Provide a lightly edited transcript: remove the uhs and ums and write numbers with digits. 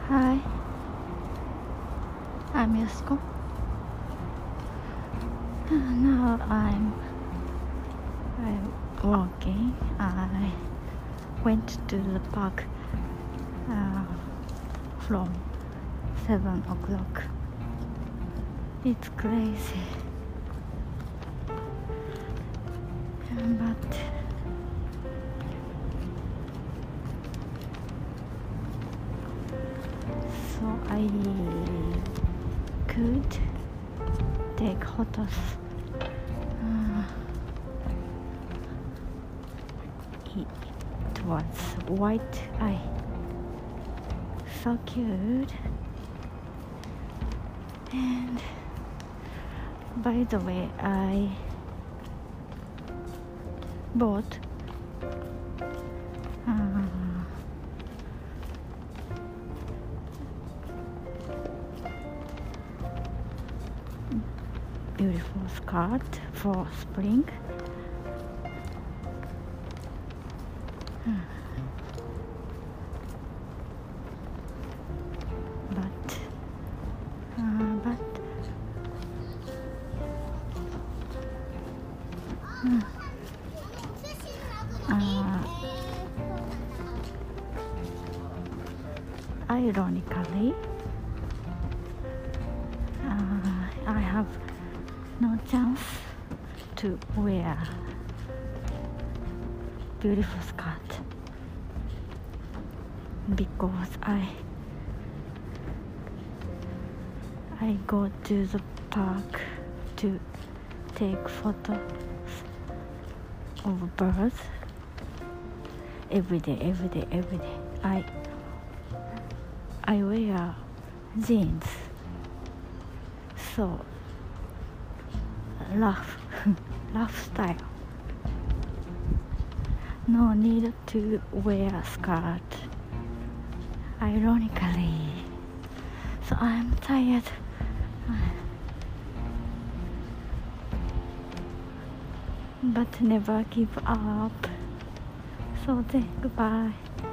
Hi, I'm Yusuko. Now I'm walking. I went to the park from 7 o'clock. It's crazy, but so I could take photos. It was white eye, so cute. And by the way, I bought beautiful skirt for spring. But ironically, I have no chance to wear beautiful skirt because I go to the park to take photos of birds every day. I wear jeans, so rough style. No need to wear a skirt, ironically. So I'm tired. But never give up. So then, goodbye.